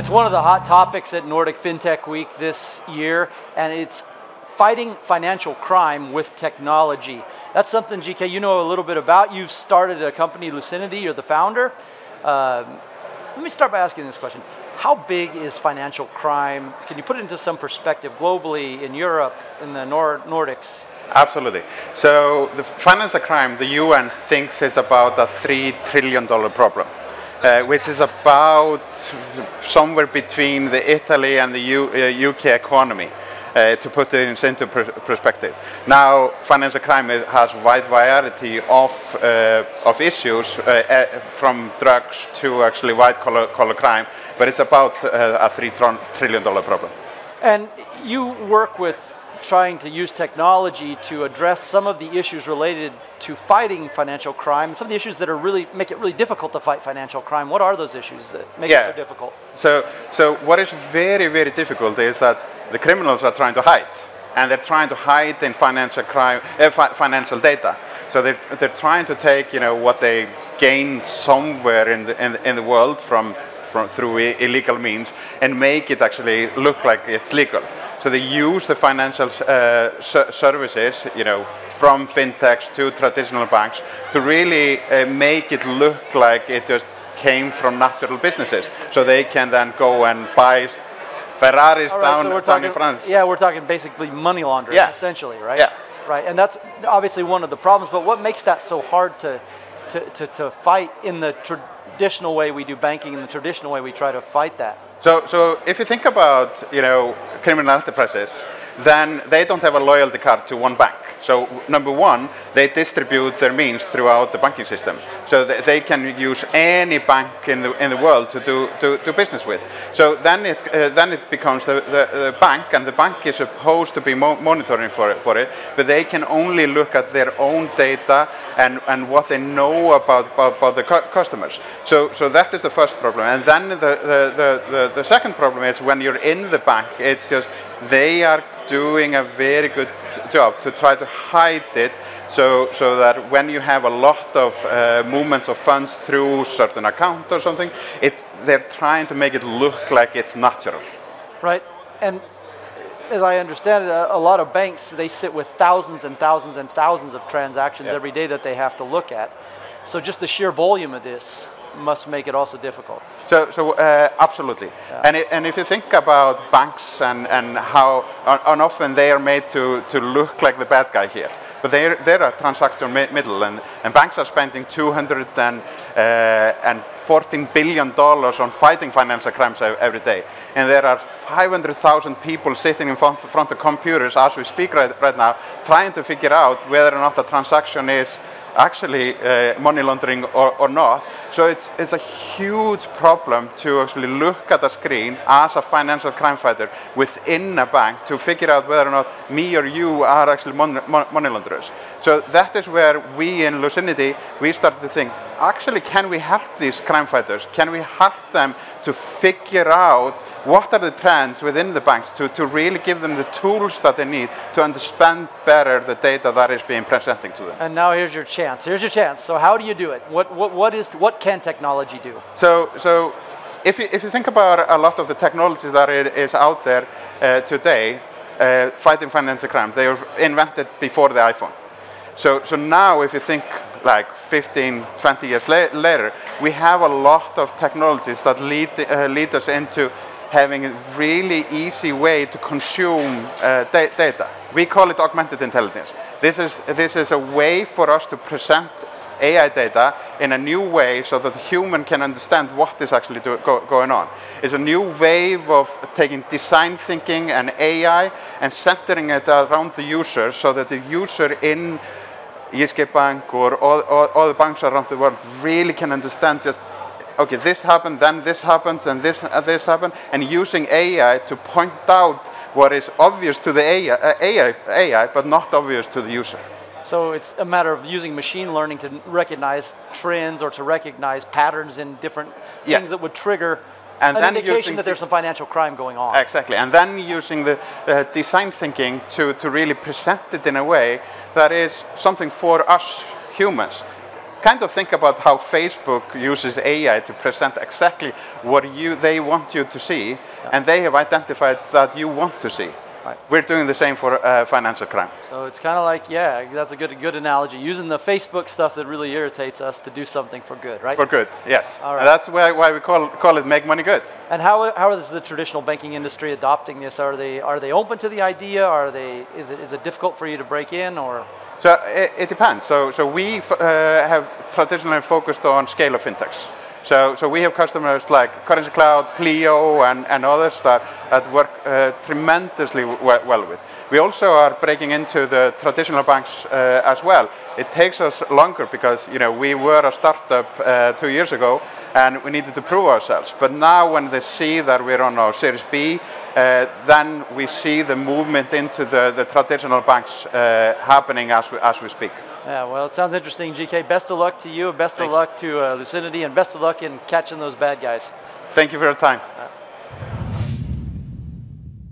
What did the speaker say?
It's one of the hot topics at Nordic FinTech Week this year, and it's fighting financial crime with technology. That's something, GK, you know a little bit about. You've started a company, Lucinity, you're the founder. Let me start by asking this question. How big is financial crime? Can you put it into some perspective globally, in Europe, in the Nordics? Absolutely. So the financial crime, the UN thinks is about a $3 trillion problem, which is about somewhere between the Italy and the UK economy, to put it into perspective. Now, financial crime has a wide variety of issues, from drugs to actually white-collar crime, but it's about a $3 trillion problem. And you work with trying to use technology to address some of the issues related to fighting financial crime, some of the issues that are make it really difficult to fight financial crime. What are those issues that make it so difficult? So what is very, very difficult is that the criminals are trying to hide, and they're trying to hide in financial crime, financial data. So they're trying to take what they gained somewhere in the world through illegal means and make it actually look like it's legal. So they use the financial services, from fintechs to traditional banks, to really make it look like it just came from natural businesses. So they can then go and buy Ferraris down in France. Yeah, we're talking basically money laundering, essentially, right? Yeah. Right, and that's obviously one of the problems. But what makes that so hard to fight in the traditional way we do banking, in the traditional way we try to fight that? So if you think about criminal enterprises, then they don't have a loyalty card to one bank. So number one, they distribute their means throughout the banking system, so they can use any bank in the world to do business with. So then it becomes the bank, and the bank is supposed to be monitoring for it, but they can only look at their own data and what they know about the customers. So that is the first problem. And then the second problem is when you're in the bank, it's just they are doing a very good job to try to hide it, so that when you have a lot of movements of funds through certain account or something, they're trying to make it look like it's natural. Right, and as I understand it, a lot of banks, they sit with thousands and thousands and thousands of transactions every day that they have to look at. So just the sheer volume of this must make it also difficult. So absolutely. Yeah. And if you think about banks and how often they are made to look like the bad guy here, but they're a transaction middle, and banks are spending $214 billion on fighting financial crimes every day. And there are 500,000 people sitting in front of computers as we speak right now, trying to figure out whether or not the transaction is actually money laundering or not. So it's a huge problem to actually look at a screen as a financial crime fighter within a bank to figure out whether or not me or you are actually money launderers. So that is where we in Lucinity, we started to think, actually, can we help these crime fighters? Can we help them to figure out what are the trends within the banks to really give them the tools that they need to understand better the data that is being presenting to them? And now here's your chance. So how do you do it? What can technology do? So if you think about a lot of the technology that is out there today, fighting financial crime, they were invented before the iPhone. So now if you think like 15, 20 years later, we have a lot of technologies that lead us into having a really easy way to consume data. We call it augmented intelligence. This is a way for us to present AI data in a new way so that the human can understand what is actually going on. It's a new wave of taking design thinking and AI and centering it around the user so that the user in Jyske Bank or all the banks around the world really can understand just, okay, this happened, then this happens, and this happened, and using AI to point out what is obvious to the AI, but not obvious to the user. So it's a matter of using machine learning to recognize trends or to recognize patterns in different things that would trigger an indication that there's some financial crime going on. Exactly, and then using the design thinking to really present it in a way that is something for us humans. kind of think about how Facebook uses AI to present exactly what they want you to see, and they have identified that you want to see. Right. We're doing the same for financial crime. So it's kind of like, yeah, that's a good analogy. Using the Facebook stuff that really irritates us to do something for good, right? For good, yes. All right. And that's why we call it Make Money Good. And how is the traditional banking industry adopting this? Are they open to the idea? Is it difficult for you to break in, or? So it depends. So we have traditionally focused on scale of fintechs. So we have customers like Currency Cloud, Pleo, and others that work tremendously well with. We also are breaking into the traditional banks as well. It takes us longer because we were a startup 2 years ago, and we needed to prove ourselves. But now when they see that we're on our Series B, then we see the movement into the traditional banks happening as we speak. Yeah, well, it sounds interesting, GK. Best of luck to you, best of luck to Lucinity, and best of luck in catching those bad guys. Thank you for your time.